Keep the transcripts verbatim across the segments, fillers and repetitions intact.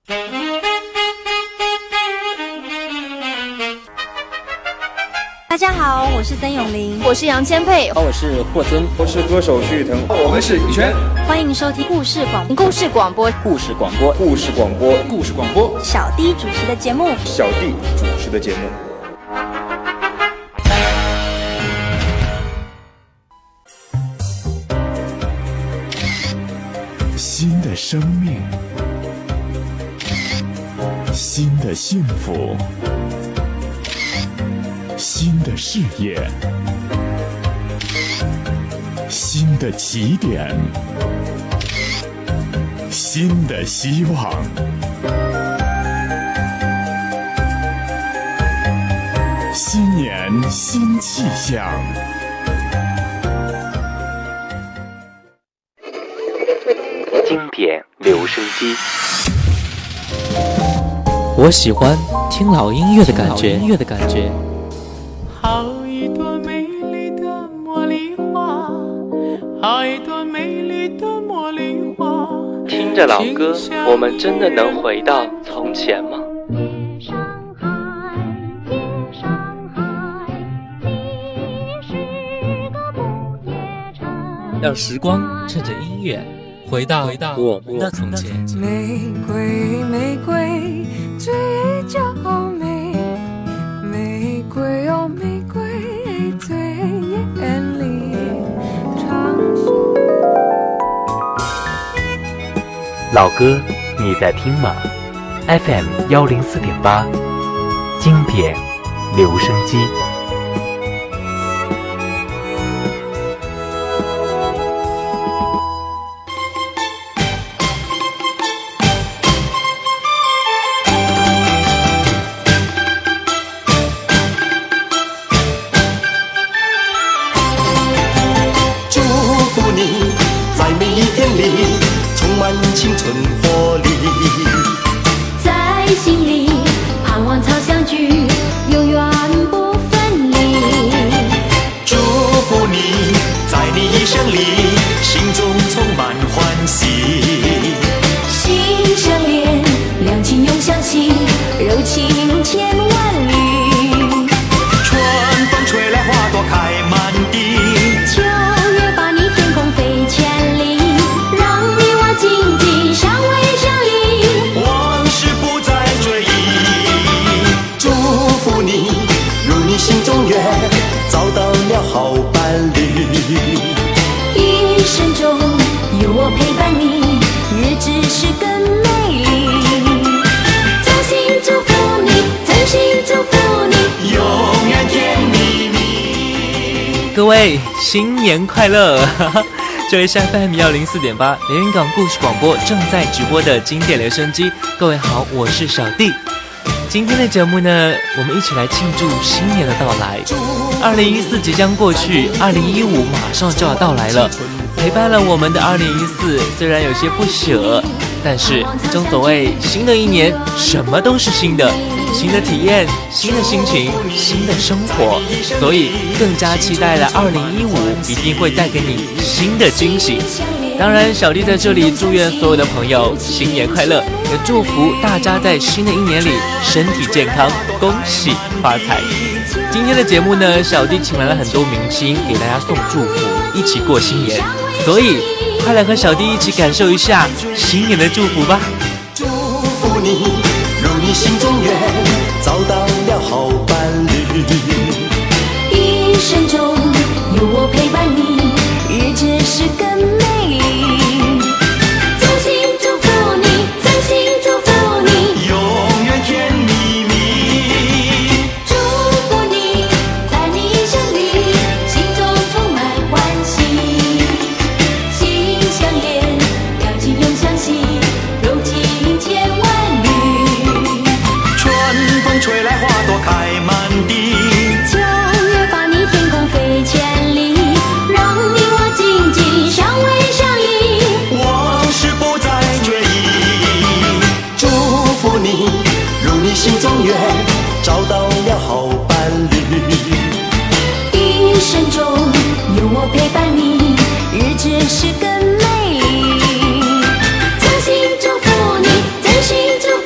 大家好，我是曾永玲， 我是杨千霈， 我是霍尊， 我是歌手徐誉滕， 我们是羽泉。 欢迎收听故事广故事广播故事广播故事广播故事广播小弟主持的节目小弟主持的节目。 新的生命，新的幸福，新的事业，新的起点，新的希望。新年新气象。 经典留声机， 我喜欢听老音乐的感觉。音乐的感觉。 好一朵美丽的茉莉花，好一朵美丽的茉莉花。 听着老歌，我们真的能回到从前吗？让时光趁着音乐回到回到我们的从前。 玫瑰玫瑰最娇美，玫瑰哦玫瑰最艳丽，唱老歌你在听吗？ F M 一零四点八，经典留声机。 青春活力， 在心里盼望朝相聚，永远不分离。 祝福你，在你一生里，心中充满欢喜。 心相连，两情永相惜，柔情千万缕。 春风吹来，花朵开满地。 秋月把你天空飞千里，让你我紧紧相偎相依， 往事不再追忆。祝福你，如你心中愿，找到了好伴侣。 一生中有我陪伴你，日子是更美丽。衷心祝福你，真心祝福你， 永远甜蜜蜜。 各位新年快乐！这里是 F M 一零四点八连云港故事广播正在直播的经典留声机。各位好，我是小弟。今天的节目呢，我们一起来庆祝新年的到来。二零一四即将过去，二零一五马上就要到来了。陪伴了我们的二零一四，虽然有些不舍，但是正所谓新的一年，什么都是新的。新的体验，新的心情，新的生活，所以更加期待了二零一五一定会带给你新的惊喜。当然小弟在这里祝愿所有的朋友新年快乐，也祝福大家在新的一年里身体健康，恭喜发财。今天的节目呢，小弟请来了很多明星给大家送祝福，一起过新年，所以快来和小弟一起感受一下新年的祝福吧。 祝福你，如你心中愿，找到了好伴侣。 一生中有我陪伴你，日子是更美丽。衷心祝福你，真心祝福你， 永远甜蜜蜜。 祝福你，在你一生里，心中充满欢喜。心相连，两情永相惜，柔情千万缕。 春风吹来，花朵开满地。 秋月把你天空飞千里，让你我紧紧相偎相依， 往事不再追忆。祝福你，如你心中愿，找到了好伴侣。 一生中有我陪伴你，日子是更美丽。真心祝福你，真心祝福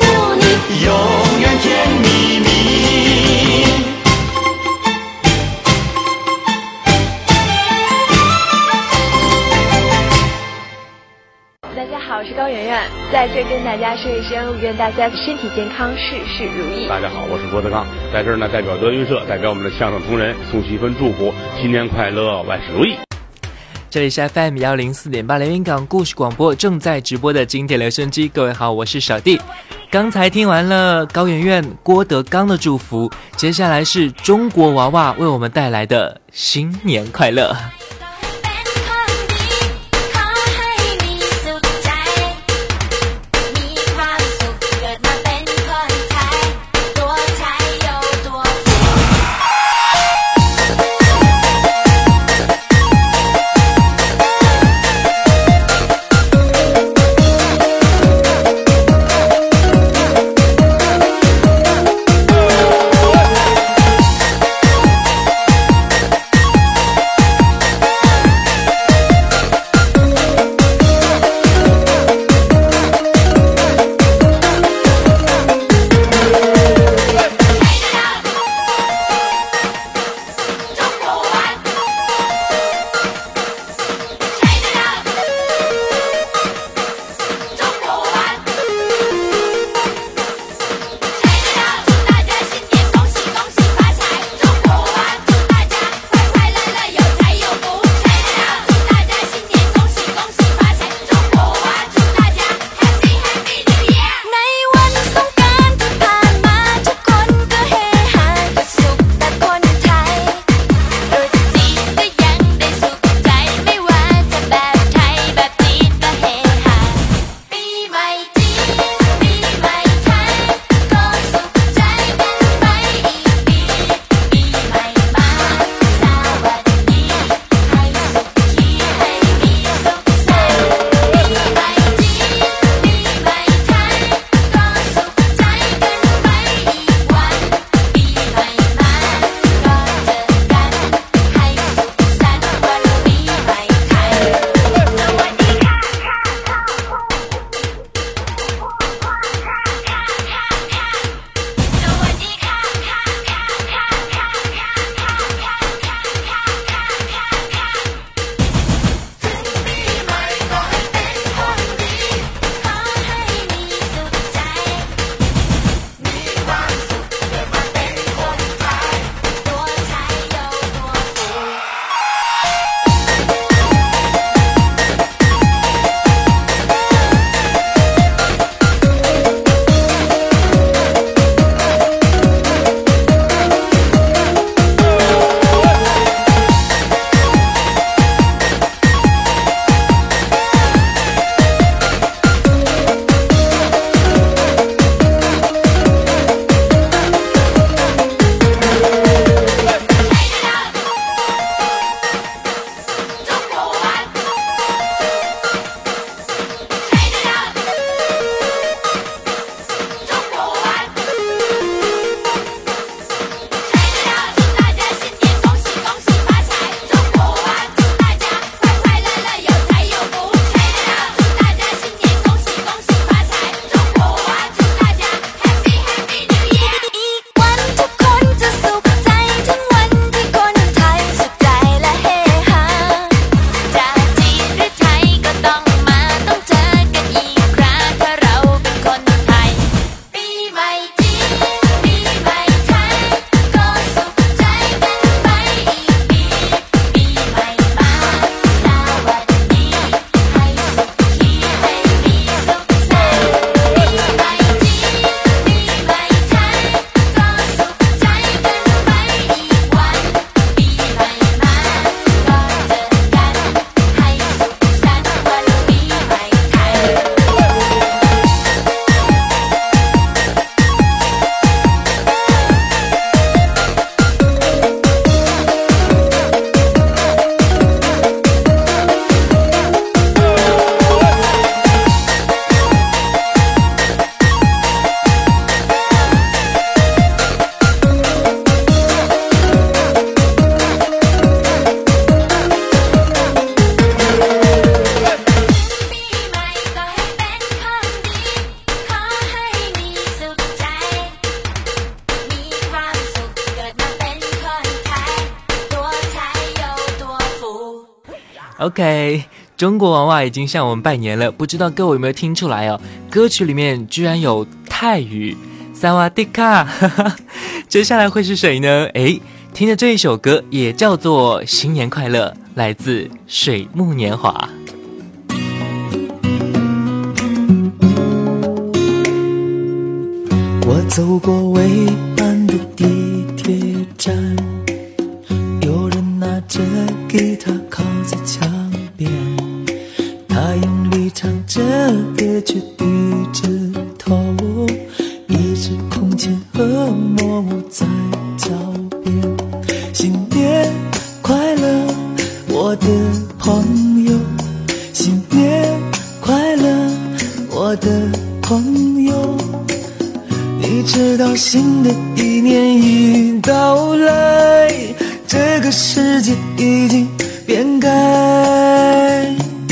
大家说一声，愿大家身体健康，事事如意。 大家好，我是郭德纲，在这儿呢，代表德云社，代表我们的相声同仁，送去一份祝福，新年快乐，万事如意。 这里是 F M 幺零四点八连云港故事广播正在直播的经典留声机，各位好，我是小弟。刚才听完了高圆圆、郭德纲的祝福，接下来是中国娃娃为我们带来的新年快乐。 OK， 中国娃娃已经向我们拜年了，不知道各位有没有听出来哦？歌曲里面居然有泰语，萨瓦迪卡，接下来会是谁呢？诶，听的这一首歌也叫做《新年快乐》，来自水木年华。 我走过蔚蓝的地铁站，有人拿着吉他靠在墙边，他用力唱着歌却低着头，一只空间和模糊在脚边。新年快乐，我的朋友，新年快乐，我的朋友。你知道新的一年已到来，这个世界已经变改。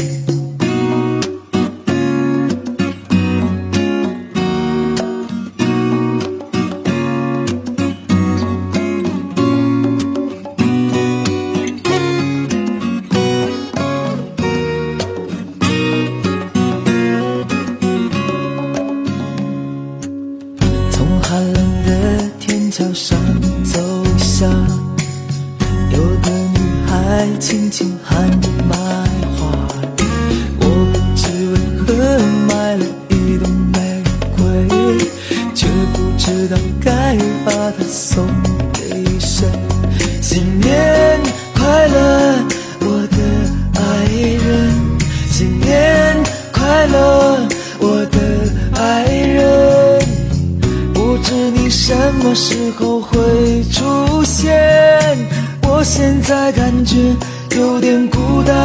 桥上走下，有个女孩轻轻喊着买花，我不知为何买了一朵玫瑰，却不知道该把它送给谁。新年快乐，我的爱人，新年快乐，我的爱人，不知你什么时候会出现，我现在感觉有点孤单。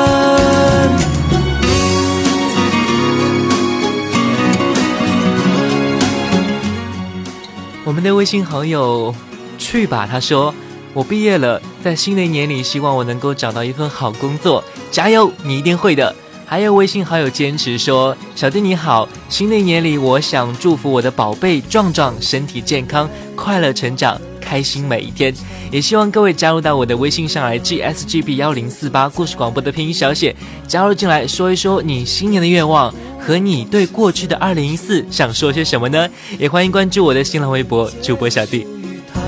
我们的微信好友去吧，他说我毕业了，在新的一年里希望我能够找到一份好工作，加油，你一定会的。还有微信好友坚持说，小弟你好，新的一年里我想祝福我的宝贝壮壮身体健康，快乐成长，开心每一天。也希望各位加入到我的微信上来 G S G B 一零四八 故事广播的拼音小写，加入进来说一说你新年的愿望和你对过去的二零一四想说些什么呢？也欢迎关注我的新浪微博主播小弟。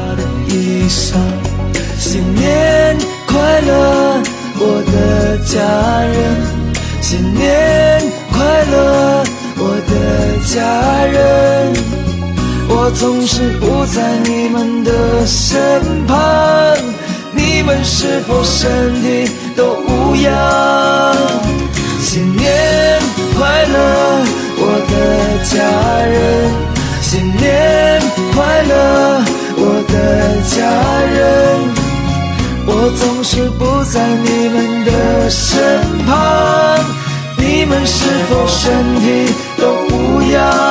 新年快乐，我的家人，新年快乐，我的家人，我总是不在你们的身旁，你们是否身体都无恙？新年快乐，我的家人，新年快乐，我的家人，我总是不在你们的身旁，你们是否身体都无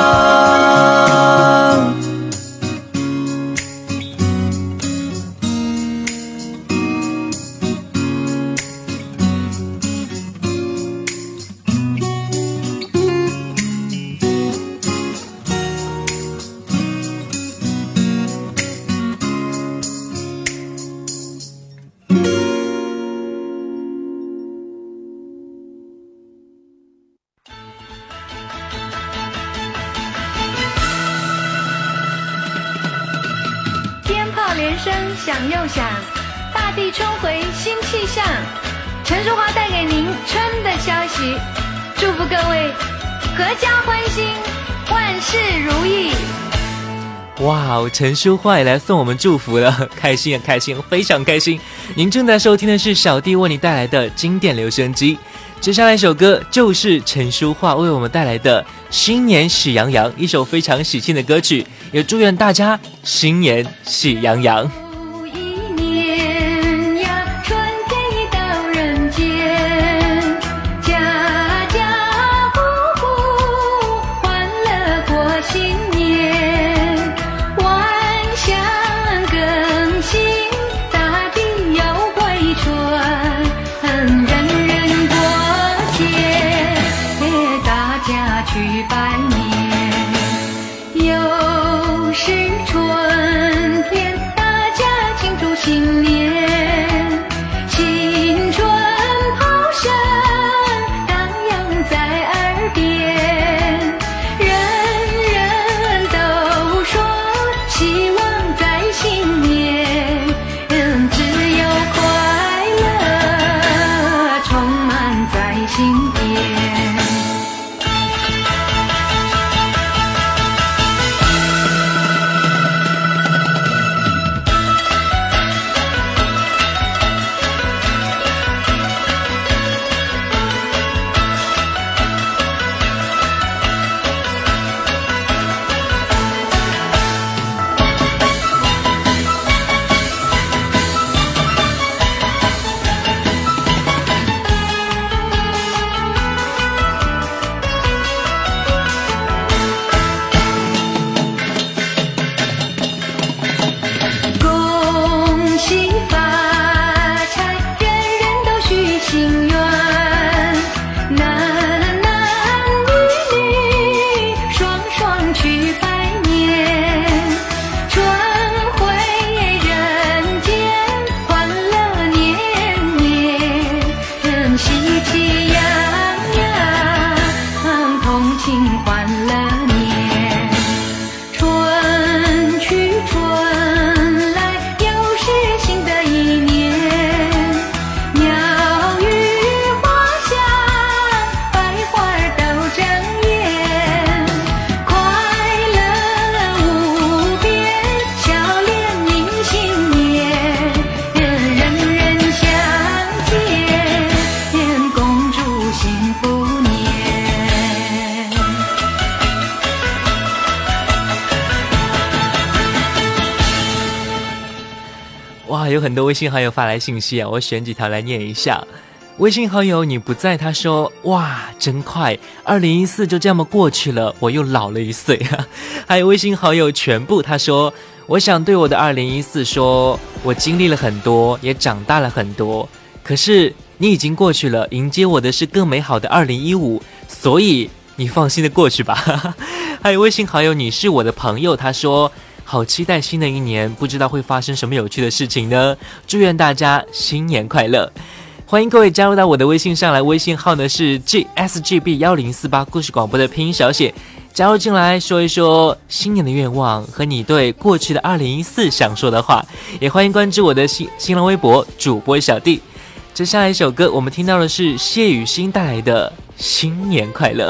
恙？ 响又响，大地春回新气象。陈淑华带给您春的消息，祝福各位阖家欢心，万事如意。 哇，陈淑桦也来送我们祝福了，开心啊，开心，非常开心。您正在收听的是小弟为你带来的经典留声机，接下来一首歌就是陈淑桦为我们带来的《新年喜洋洋》，一首非常喜庆的歌曲，也祝愿大家新年喜洋洋。 新年，新春炮声哇，有很多微信好友发来信息啊，我选几条来念一下。微信好友你不在，他说哇真快，二零一四就这么过去了，我又老了一岁啊。还有微信好友全部，他说我想对我的二零一四说，我经历了很多，也长大了很多，可是你已经过去了，迎接我的是更美好的二零一五，所以你放心的过去吧。还有微信好友你是我的朋友，他说好期待新的一年，不知道会发生什么有趣的事情呢，祝愿大家新年快乐。欢迎各位加入到我的微信上来，微信号呢是 G S G B 一零四八 故事广播的拼音小写，加入进来说一说新年的愿望和你对过去的二零一四想说的话，也欢迎关注我的新新浪微博主播小弟。接下来一首歌，我们听到的是谢雨欣带来的新年快乐。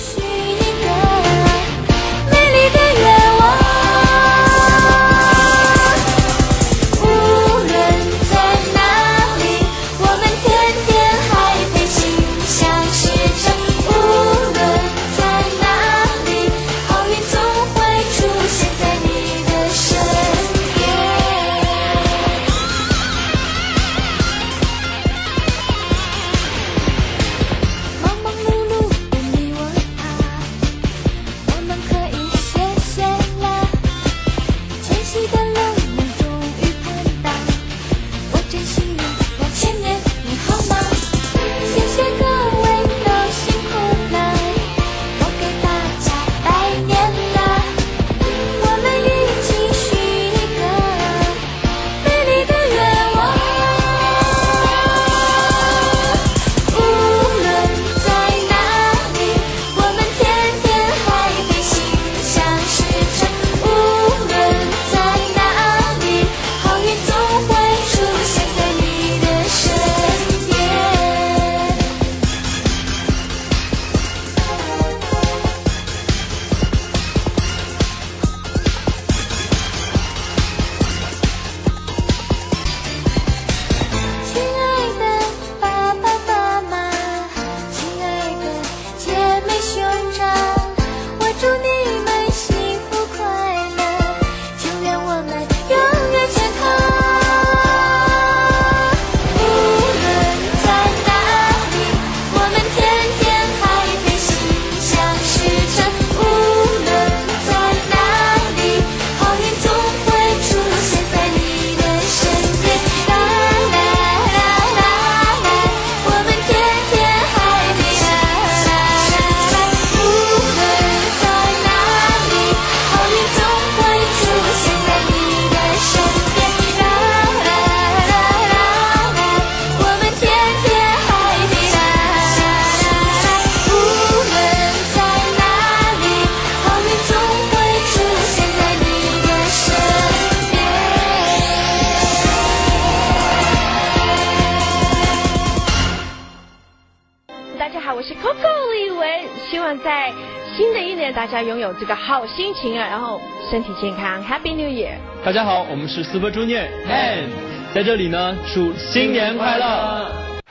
大家拥有这个好心情啊，然后身体健康 ，Happy New Year！ 大家好，我们是 Super Junior and 在这里呢，祝新年快乐！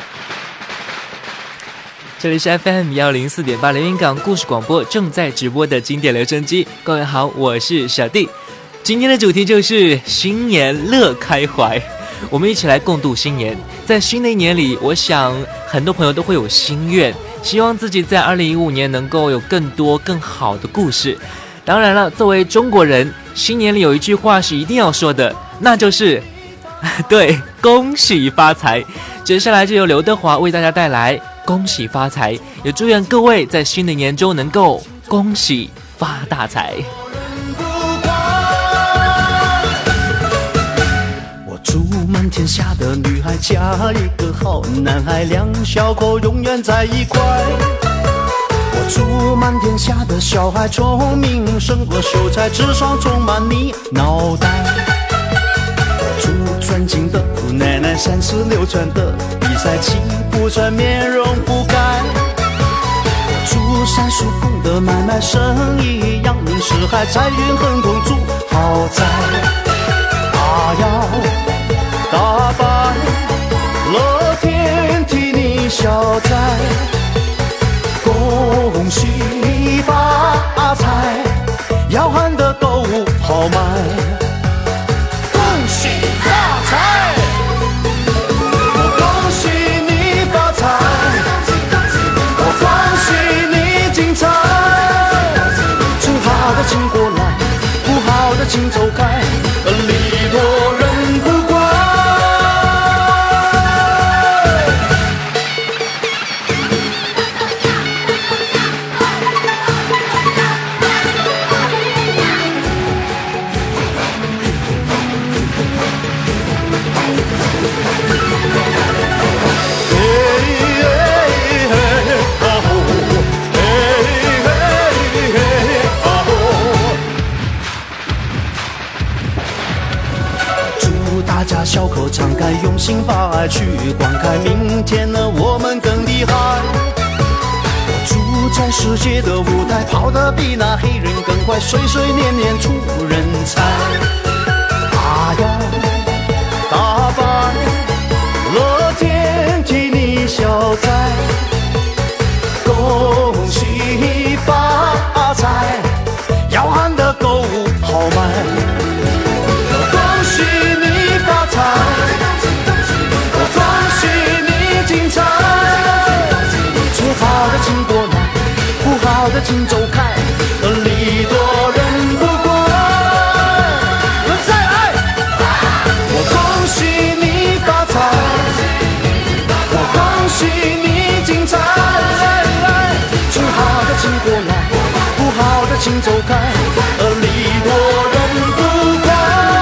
这里是 F M 一零四点八连云港故事广播正在直播的经典留声机，各位好，我是小弟。今天的主题就是新年乐开怀，我们一起来共度新年。在新的一年里，我想很多朋友都会有心愿，希望自己在二零一五年能够有更多更好的故事。当然了，作为中国人，新年里有一句话是一定要说的，那就是对，恭喜发财。接下来就由刘德华为大家带来恭喜发财，也祝愿各位在新的一年中能够恭喜发大财。 祝满天下的女孩嫁一个好男孩，两小口永远在一块。我祝满天下的小孩聪明胜过秀才，智商充满你脑袋。祝尊敬的姑奶奶三十六转的比赛气不喘，面容不改。祝三叔公的买卖生意扬名四海，财运亨通祝豪宅。啊呀大白，乐天替你消灾，恭喜发财，要喊得够豪迈，恭喜发财。 大家小口敞开，用心把爱去灌溉，明天呢我们更厉害。我住在世界的舞台，跑得比那黑人更快，岁岁年年出人才。啊呀，大白乐天替你消灾，恭喜发财，要喊得够豪迈。恭喜你发财，恭喜你精彩，最好的请过来，不好的请走开，礼多人不怪。再来，我恭喜你发财，我恭喜你精彩，最好的请过来，不好的请走开，礼多人不怪。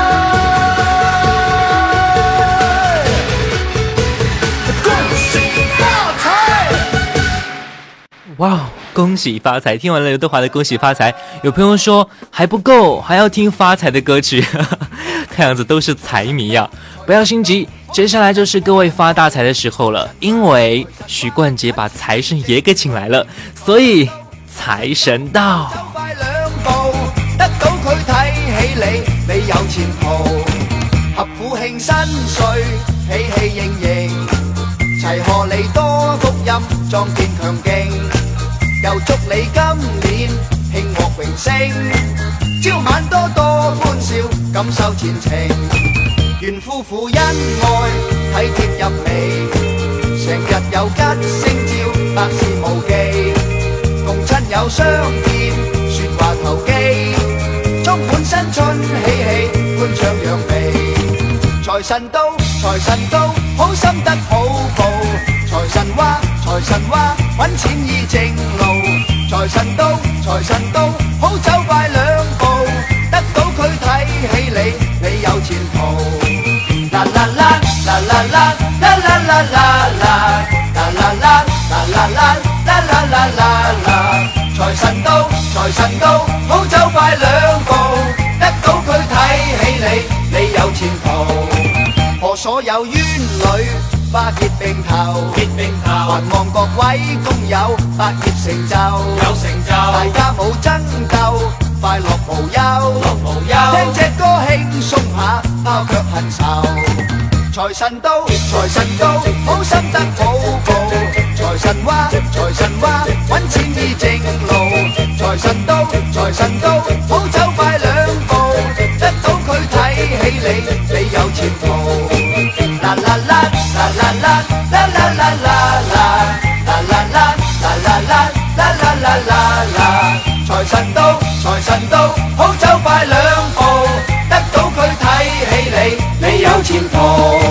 哇，恭喜发财！听完了刘德华的《恭喜发财》，有朋友说还不够，还要听发财的歌曲。看样子都是财迷呀、啊！不要心急，接下来就是各位发大财的时候了，因为许冠傑把財神爺給請來了，所以財神到。 得到佢睇起你，你有前途。合府慶新歲，喜氣盈盈，齊賀你多福音，壯健強勁。又祝你今年慶獲榮升，朝晚多多歡笑，感受前程。願夫婦恩愛，體貼入微，成日有吉星照，百事無忌。共親友相見，説話投機，充滿新春喜氣，歡唱揚眉。財神到，財神到，好心得好報。財神話，財神話，揾錢依正路。財神到，財神到，好走快兩步。得到佢睇起你，你有前途。啦啦啦，啦啦啦，啦啦啦啦啦，啦啦啦，啦啦啦，啦啦啦啦啦。財神到，財神到，好走快兩步。得到佢睇起你，你有前途。賀所有冤侶，花結並頭，結並頭，還望各位工友百業成就，有成就，大家冇爭鬥，快樂無憂，樂無憂，聽隻歌輕鬆下，拋卻恨愁。財神到，財神到，好心得好報。財神話，財神話，揾錢依正路。財神到，財神到，好走快兩步。得到佢睇起你，你有前途。啦啦啦，啦啦啦，啦啦啦啦啦，啦啦啦，啦啦啦，啦啦啦啦啦。財神到，財神到，好走快兩步。得到佢睇起你，你有前途。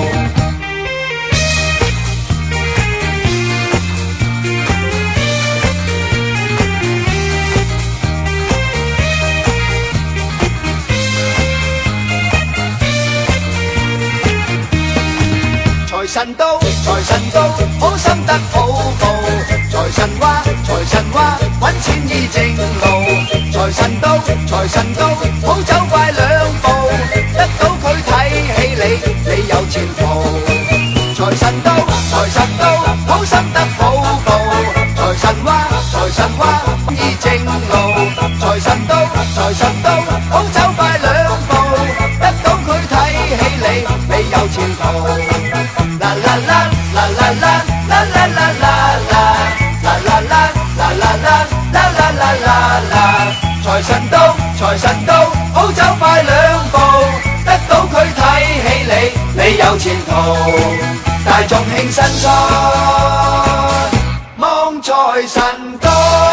財神到，財神到，好心得好報。財神話，財神話，揾錢依正路。財神到，財神到，好走快兩步。得到佢睇起你，你有前途。財神到，財神到，好心得好報。財神話，財神話，依正路。財神到，財神到，好走快兩步。得到佢睇起你，你有前途。啦啦啦，啦啦啦，啦啦啦啦啦，啦啦啦，啦啦啦，啦啦啦啦啦。財神到，財神到，好走快兩步。得到佢睇起你，你有前途。大眾慶新春，望財神到。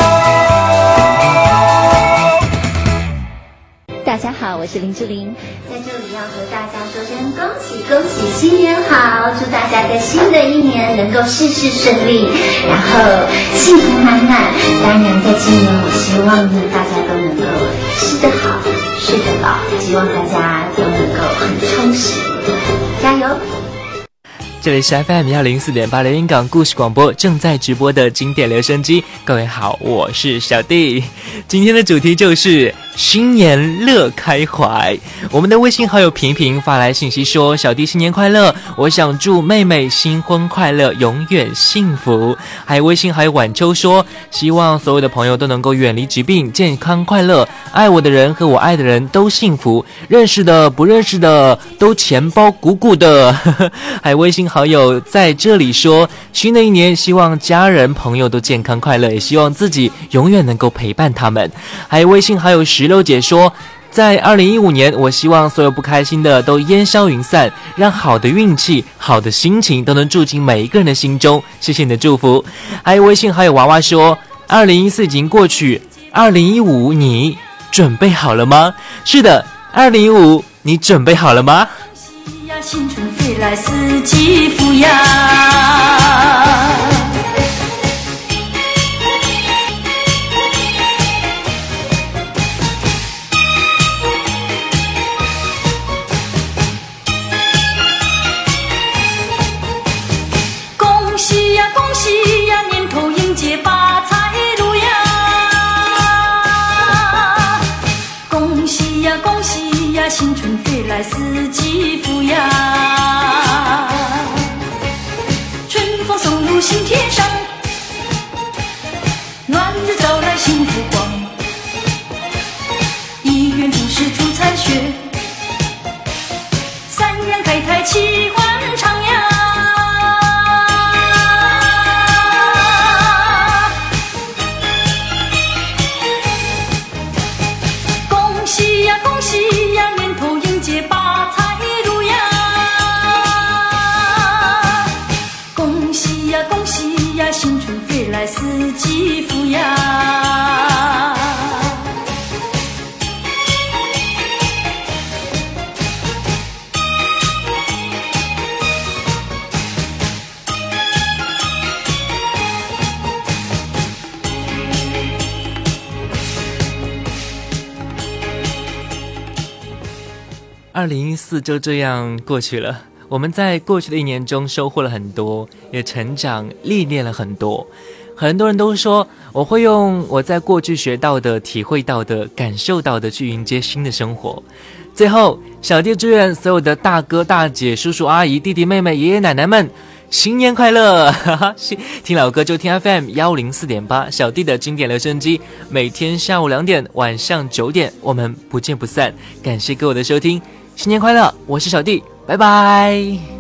大家好，我是林志玲，在这里要和大家说声恭喜恭喜，新年好！祝大家在新的一年能够事事顺利，然后幸福满满。当然，在今年，我希望呢，大家都能够吃得好，睡得饱，希望大家都能够很充实，加油！ 这里是 F M 一零四点八连云港故事广播正在直播的经典留声机。各位好，我是小弟。今天的主题就是新年乐开怀。我们的微信好友平平发来信息说：小弟新年快乐，我想祝妹妹新婚快乐，永远幸福。还有微信好友晚秋说：希望所有的朋友都能够远离疾病，健康快乐，爱我的人和我爱的人都幸福，认识的不认识的都钱包鼓鼓的。还有微信好友在这里说：新的一年希望家人朋友都健康快乐，也希望自己永远能够陪伴他们。还有微信好友石榴姐说：在二零一五年，我希望所有不开心的都烟消云散，让好的运气好的心情都能住进每一个人的心中，谢谢你的祝福。还有微信好友娃娃说：二零一四已经过去，二零一五你准备好了吗？是的，二零一五你准备好了吗？ 新春飞来四季福呀，恭喜呀恭喜呀，年头迎接发财路呀，恭喜呀恭喜呀，新春飞来四季福呀，春风送入心田上，暖日照来幸福光，一元诸事出残雪，三元开泰气欢畅呀，恭喜呀恭喜呀，年头迎接发财路呀，恭喜呀恭喜呀，新春飞来四季福呀。 二零一四就这样过去了，我们在过去的一年中收获了很多，也成长历练了很多。很多人都说我会用我在过去学到的、体会到的、感受到的去迎接新的生活。最后，小弟祝愿所有的大哥大姐、叔叔阿姨、弟弟妹妹、爷爷奶奶们新年快乐！听老歌就听 F M 一零四点八，小弟的经典留声机，每天下午两点、晚上九点，我们不见不散。感谢各位的收听，新年快乐！我是小弟，拜拜。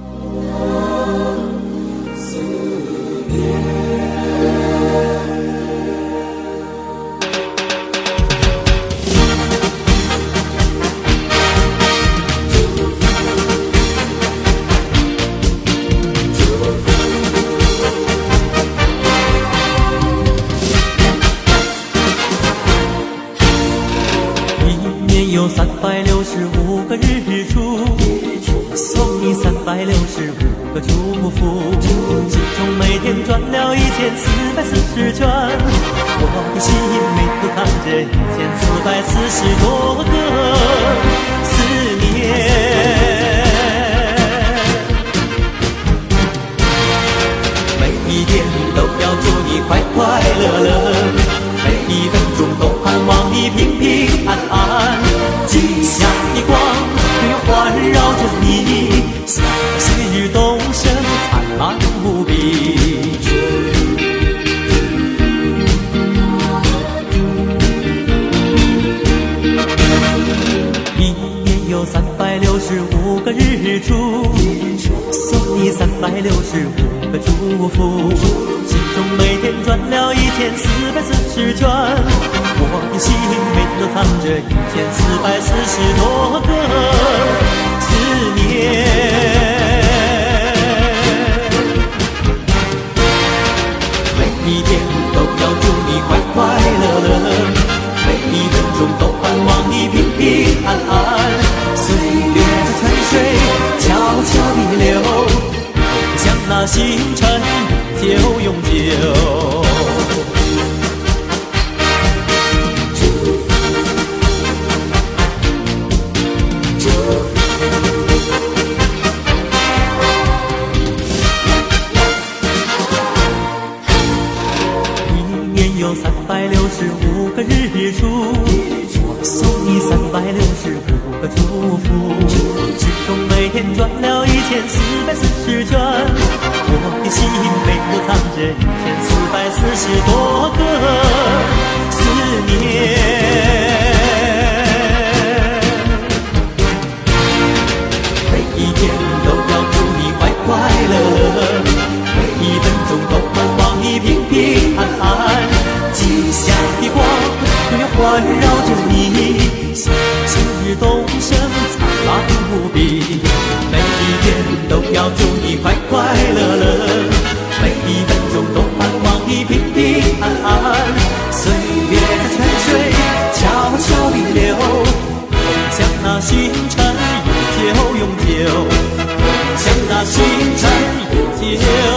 有三百六十五个日出，送你三百六十五个祝福，心中每天转了一千四百四十圈，我的心里头藏着一千四百四十多个思念，每一天都要祝你快快乐乐，每一分钟都盼望你平平安安，吉祥的光永环绕着你，笑得岁日东升，灿烂无比。一年有三百六十五个日出，送你三百六十五个祝福，心中每天转了一千四百四十圈，我的心里都藏着一千四百四十多个思念。每一天都要祝你快快乐乐，每一分钟都盼望你平平安安。岁月在泉水悄悄地流，像那星辰就永久。 个祝福，时钟每天转了一千四百四十圈，我的心背后藏着一千四百四十多个思念。每一天都要祝你快快乐乐，每一分钟都盼望你平平安安，吉祥的光永远环绕着你，喜事东升灿烂无比。每一天都要祝你快快乐乐，每一分钟都盼望你平平安安。岁月在泉水悄悄地流，梦想那星辰永久永久，梦想那星辰永久。